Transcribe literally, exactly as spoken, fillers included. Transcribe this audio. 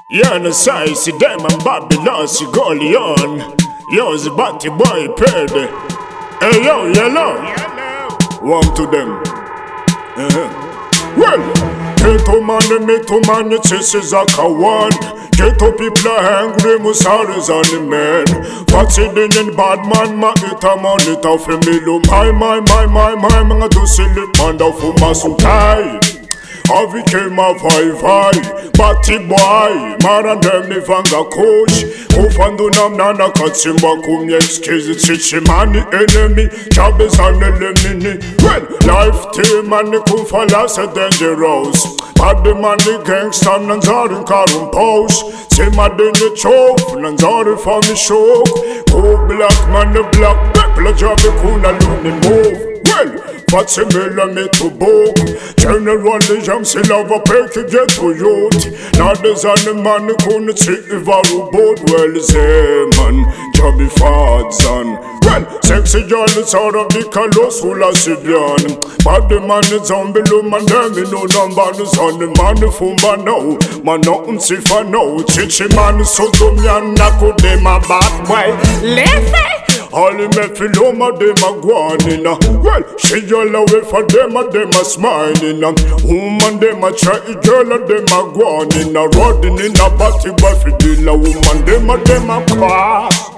Yeah, no size, see them and Babylon, see Golion. Yo, the batty boy, paid. Hey, yo, yellow. One to them. Uh-huh. Well, ghetto man, me to man, it is a kawan. Ghetto people are angry, Musaris on the man. What's it in the bad man, ma ita man, it off a middle. My, my, my, my, my, man, to silly panda for Masukai. Avi came a vai-vai, batty boy, Maran dem ni vanga coach. Ufandu nam nana katsimba kumye skizi chichi mani enemy. Chabes anelemini. Well, life team and the kufala se dangerous. Bad man the gangsta nanzari karum pose. Sima deni chof, nanzari for me show. Go black man the black, people jabe kuna luni move. Well, Fatsi mela me to book. General the jam si lava pek get to youth. Now there's an man who couldn't see if I boat. Well, man, Jobby Fadsan. Well, sexy girl is out of the Kalos Hula Sibian. But the man is on below man, damn no number is on the man from Bano. Man, nothing see for no. Chichi man is so dumb, Yanako de my back way. Left all me feel my dem a guanina. Well, she all away for them a dem a smiling. Woman dem a try, girl a dem a guanina. Rodding in a body buffy dealer. Woman dem a dem a cross.